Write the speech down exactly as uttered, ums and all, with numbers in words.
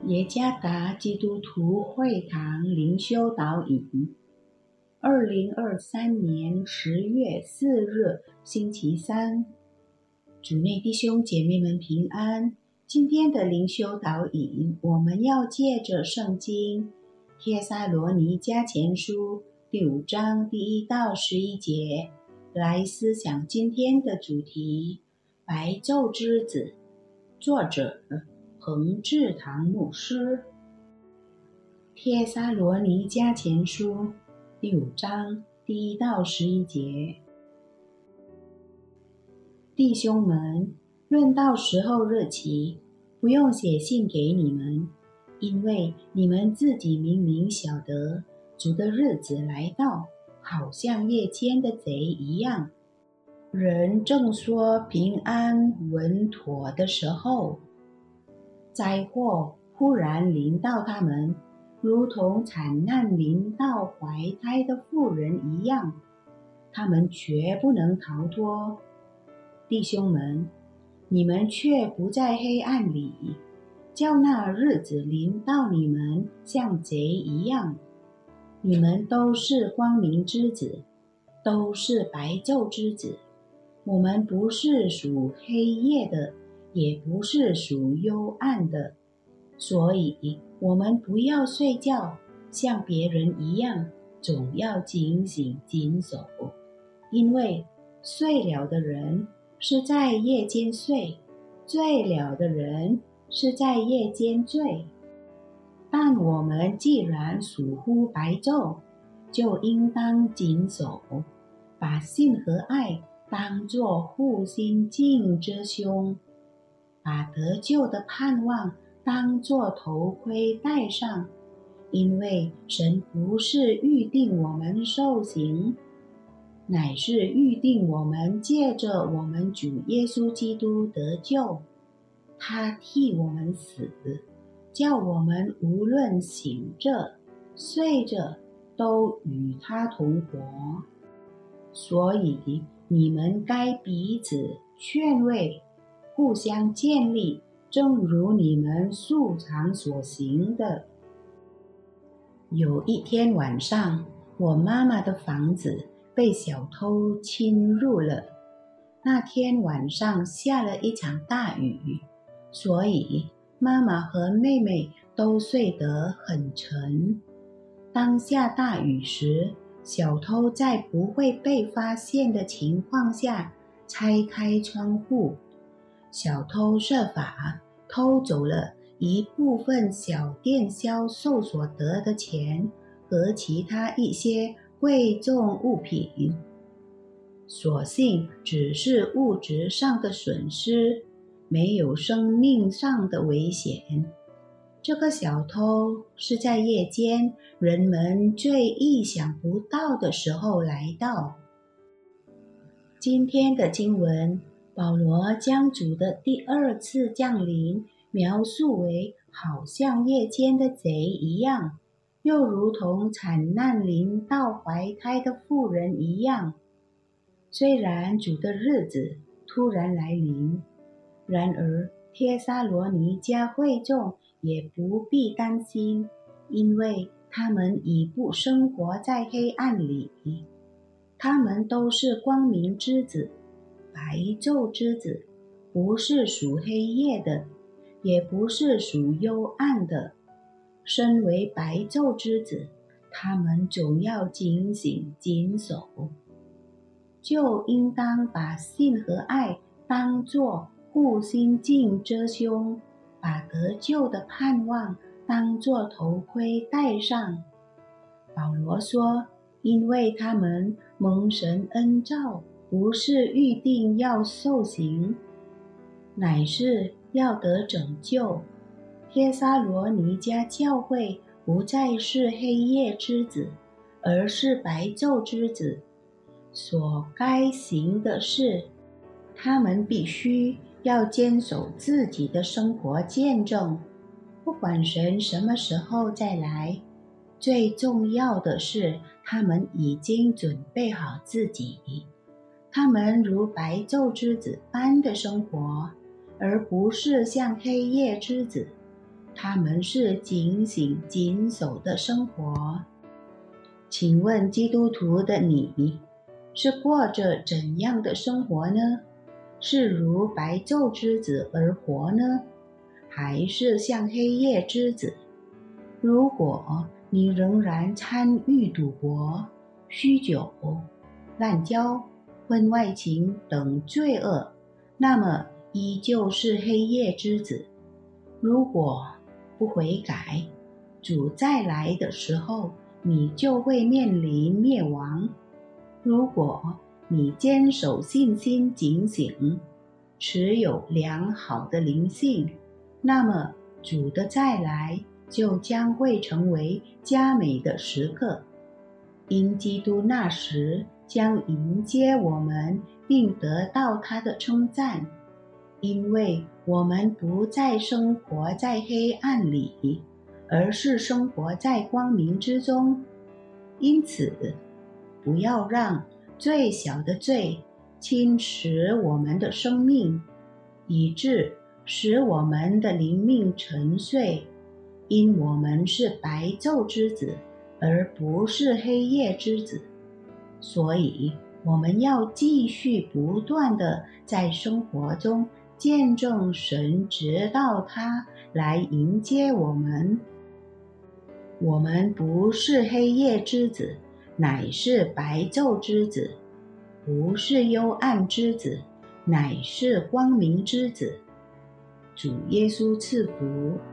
耶加达基督徒会堂灵修导引，二零二三年十月四日星期三，主内弟兄姐妹们平安。今天的灵修导引，我们要借着圣经帖撒罗尼迦前书第五章第一到十一节来思想今天的主题：白昼之子。作者彭志堂牧师。帖撒罗尼迦前书第五章第一到十一节，弟兄们，论到时候日期，不用写信给你们，因为你们自己明明晓得，主的日子来到，好像夜间的贼一样。人正说平安稳妥的时候，灾祸忽然临到他们，如同惨难临到怀胎的妇人一样，他们绝不能逃脱。弟兄们，你们却不在黑暗里，叫那日子临到你们像贼一样。你们都是光明之子，都是白昼之子。我们不是属黑夜的，也不是属幽暗的，所以我们不要睡觉，像别人一样，总要警醒谨守。因为睡了的人是在夜间睡，醉了的人是在夜间醉。但我们既然属乎白昼，就应当谨守，把信和爱当作护心镜之胸，把得救的盼望当作头盔戴上。因为神不是预定我们受刑，乃是预定我们借着我们主耶稣基督得救。他替我们死，叫我们无论醒着睡着都与他同活。所以你们该彼此劝慰，互相建立，正如你们素常所行的。有一天晚上，我妈妈的房子被小偷侵入了。那天晚上下了一场大雨，所以妈妈和妹妹都睡得很沉。当下大雨时，小偷在不会被发现的情况下拆开窗户，小偷设法偷走了一部分小店销售所得的钱和其他一些贵重物品。所幸只是物质上的损失，没有生命上的危险。这个小偷是在夜间人们最意想不到的时候来到。今天的经文，保罗将主的第二次降临描述为好像夜间的贼一样，又如同惨难临到怀胎的妇人一样。虽然主的日子突然来临，然而帖撒罗尼迦会众也不必担心，因为他们已不生活在黑暗里，他们都是光明之子，白昼之子，不是属黑夜的，也不是属幽暗的。身为白昼之子，他们总要警醒谨守，就应当把信和爱当作护心镜遮胸，把得救的盼望当作头盔戴上。保罗说，因为他们蒙神恩召，不是预定要受刑，乃是要得拯救。帖撒罗尼迦教会不再是黑夜之子，而是白昼之子。所该行的事，他们必须要坚守自己的生活见证，不管神什么时候再来。最重要的是，他们已经准备好自己，他们如白昼之子般的生活，而不是像黑夜之子。 他们是警醒谨守的生活。请问基督徒的你，是过着怎样的生活呢？是如白昼之子而活呢，还是像黑夜之子？如果你仍然参与赌博、酗酒、滥交、婚外情等罪恶，那么依旧是黑夜之子。如果不悔改，主再来的时候，你就会面临灭亡。如果你坚守信心警醒，持有良好的灵性，那么主的再来就将会成为佳美的时刻，因基督那时将迎接我们，并得到他的称赞，因为我们不再生活在黑暗里，而是生活在光明之中。因此，不要让最小的罪侵蚀我们的生命，以致使我们的灵命沉睡，因我们是白昼之子，而不是黑夜之子。所以我们要继续不断地在生活中见证神，直到他来迎接我们。我们不是黑夜之子，乃是白昼之子；不是幽暗之子，乃是光明之子。主耶稣赐福。